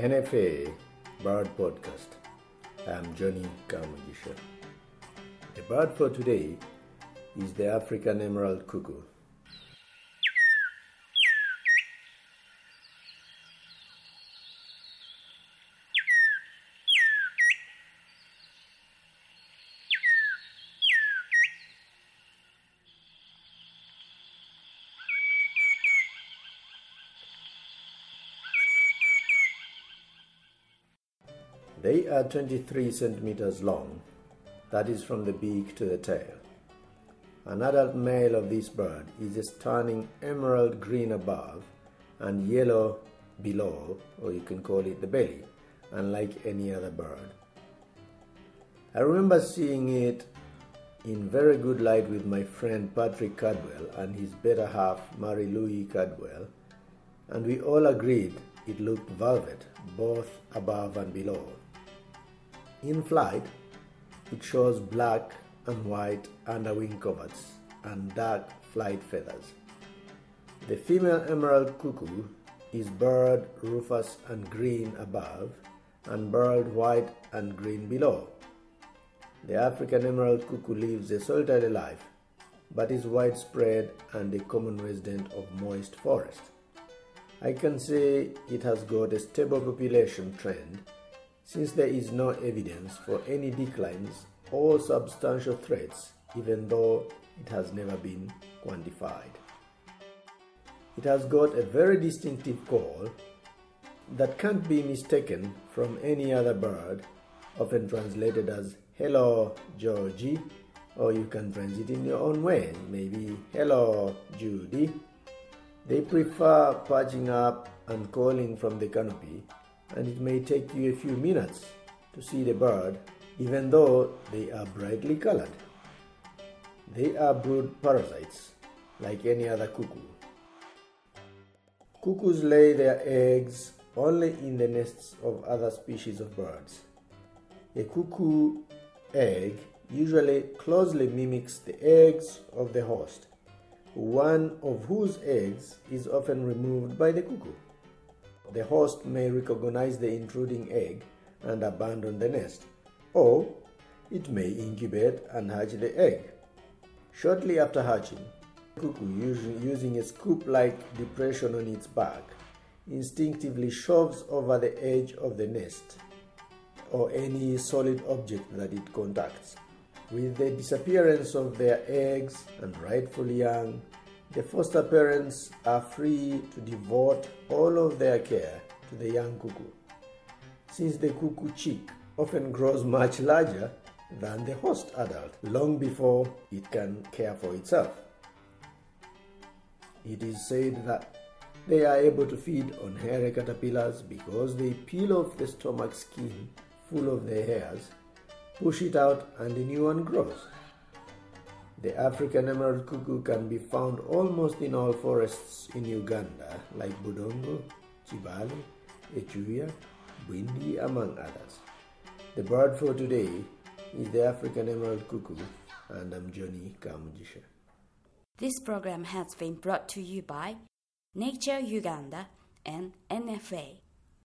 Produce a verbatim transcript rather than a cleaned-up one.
N F A Bird Podcast. I'm Johnny Kamugisha. The bird for today is the African emerald cuckoo. They are twenty-three centimeters long, that is from the beak to the tail. An adult male of this bird is a stunning emerald green above and yellow below, or you can call it the belly, unlike any other bird. I remember seeing it in very good light with my friend Patrick Cadwell and his better half Marie-Louise Cadwell, and we all agreed it looked velvet, both above and below. In flight, it shows black and white underwing coverts and dark flight feathers. The female emerald cuckoo is barred rufous and green above and barred white and green below. The African emerald cuckoo lives a solitary life, but is widespread and a common resident of moist forest. I can say it has got a stable population trend, since there is no evidence for any declines or substantial threats, even though it has never been quantified. It has got a very distinctive call that can't be mistaken from any other bird, often translated as "Hello, Georgie," or you can translate it in your own way, maybe "Hello, Judy." They prefer perching up and calling from the canopy, and it may take you a few minutes to see the bird, even though they are brightly colored. They are brood parasites, like any other cuckoo. Cuckoos lay their eggs only in the nests of other species of birds. A cuckoo egg usually closely mimics the eggs of the host, one of whose eggs is often removed by the cuckoo. The host may recognize the intruding egg and abandon the nest, or it may incubate and hatch the egg. Shortly after hatching, the cuckoo, using a scoop-like depression on its back, instinctively shoves over the edge of the nest or any solid object that it contacts. With the disappearance of their eggs and rightful young, the foster parents are free to devote all of their care to the young cuckoo, since the cuckoo chick often grows much larger than the host adult long before it can care for itself. It is said that they are able to feed on hairy caterpillars because they peel off the stomach skin full of their hairs, push it out, and a new one grows. The African emerald cuckoo can be found almost in all forests in Uganda, like Budongo, Chibale, Echuya, Bwindi, among others. The bird for today is the African emerald cuckoo, and I'm Johnny Kamugisha. This program has been brought to you by Nature Uganda and N F A.